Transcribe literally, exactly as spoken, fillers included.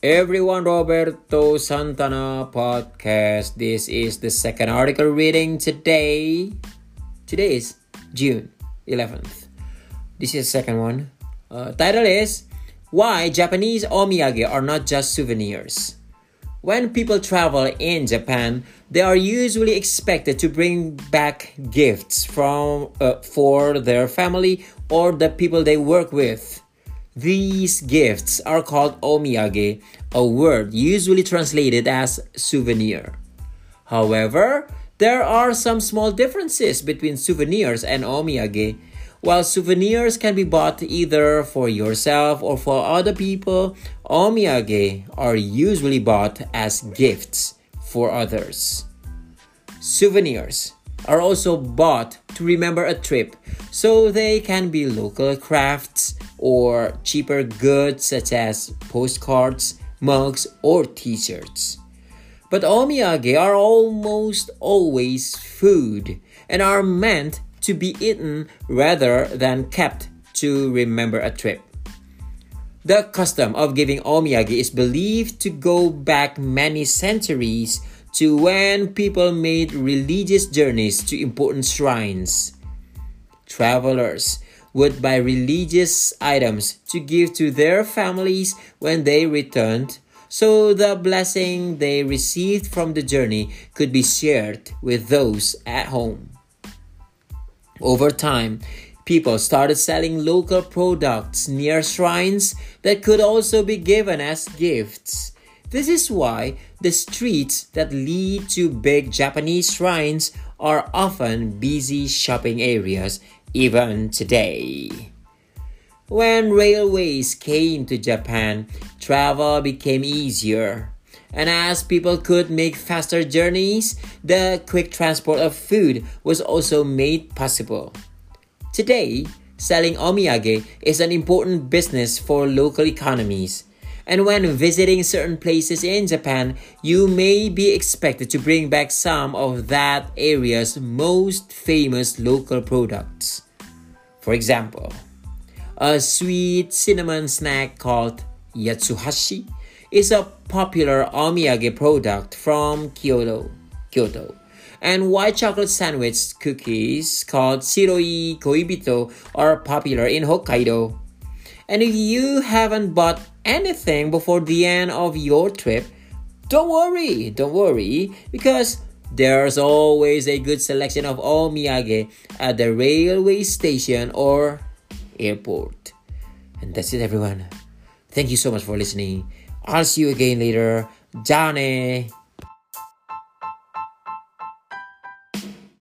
Everyone, Roberto Santana podcast. This is the second article reading today. Today is June eleventh. This is the second one. Uh, title is Why Japanese Omiyage Are Not Just Souvenirs. When people travel in Japan, they are usually expected to bring back gifts from uh, for their family or the people they work with. These gifts are called omiyage, a word usually translated as souvenir. However, there are some small differences between souvenirs and omiyage. While souvenirs can be bought either for yourself or for other people, omiyage are usually bought as gifts for others. Souvenirs are also bought to remember a trip, so they can be local crafts or cheaper goods such as postcards, mugs, or t-shirts. But omiyage are almost always food and are meant to be eaten rather than kept to remember a trip. The custom of giving omiyage is believed to go back many centuries to when people made religious journeys to important shrines. Travelers would buy religious items to give to their families when they returned, so the blessing they received from the journey could be shared with those at home. Over time, people started selling local products near shrines that could also be given as gifts. This is why the streets that lead to big Japanese shrines are often busy shopping areas even today. When railways came to Japan, travel became easier. And as people could make faster journeys, the quick transport of food was also made possible. Today, selling omiyage is an important business for local economies. And when visiting certain places in Japan, you may be expected to bring back some of that area's most famous local products. For example, a sweet cinnamon snack called yatsuhashi is a popular omiyage product from Kyoto, Kyoto. And white chocolate sandwich cookies called shiroi koibito are popular in Hokkaido. And if you haven't bought anything before the end of your trip, don't worry, don't worry, because there's always a good selection of omiyage at the railway station or airport. And that's it, everyone. Thank you so much for listening. I'll see you again later. Ja ne!